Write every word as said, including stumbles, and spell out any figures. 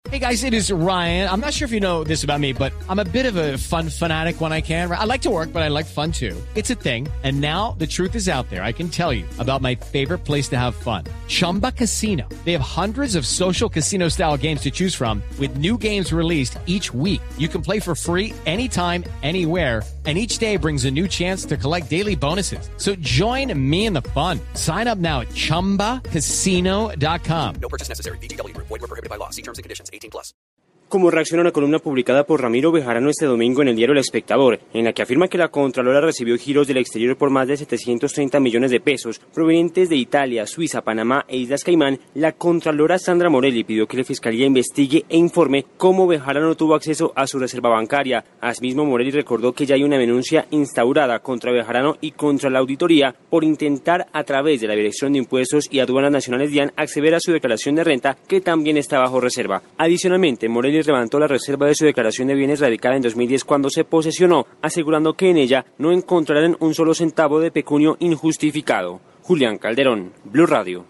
Hey guys, it is Ryan. I'm not sure if you know this about me, but I'm a bit of a fun fanatic when I can. I like to work, but I like fun too. It's a thing. And now the truth is out there. I can tell you about my favorite place to have fun. Chumba Casino. They have hundreds of social casino style games to choose from with new games released each week. You can play for free anytime, anywhere. And each day brings a new chance to collect daily bonuses. So join me in the fun. Sign up now at chumba casino dot com. No purchase necessary. V G W. Void where prohibited by law. See terms and conditions. eighteen plus. Como reacciona a una columna publicada por Ramiro Bejarano este domingo en el diario El Espectador, en la que afirma que la Contralora recibió giros del exterior por más de setecientos treinta millones de pesos provenientes de Italia, Suiza, Panamá e Islas Caimán, la Contralora Sandra Morelli pidió que la Fiscalía investigue e informe cómo Bejarano tuvo acceso a su reserva bancaria. Asimismo, Morelli recordó que ya hay una denuncia instaurada contra Bejarano y contra la auditoría por intentar a través de la Dirección de Impuestos y Aduanas Nacionales DIAN acceder a su declaración de renta, que también está bajo reserva. Adicionalmente, Morelli levantó la reserva de su declaración de bienes radicada en dos mil diez cuando se posesionó, asegurando que en ella no encontrarán un solo centavo de pecunio injustificado. Julián Calderón, Blue Radio.